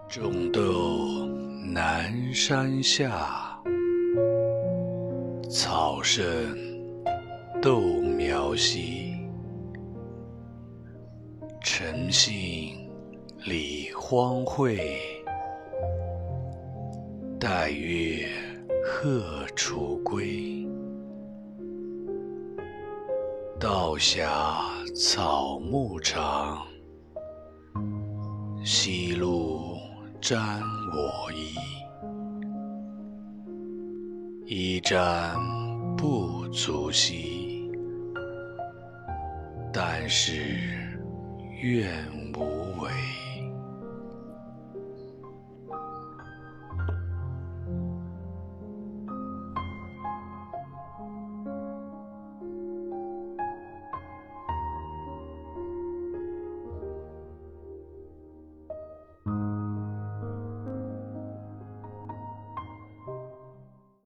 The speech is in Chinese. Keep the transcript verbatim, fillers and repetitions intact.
种豆南山下，草盛豆苗稀。晨兴理荒秽，带月荷锄归。道狭草木长，夕露沾我衣。衣沾不足惜，但是愿无违。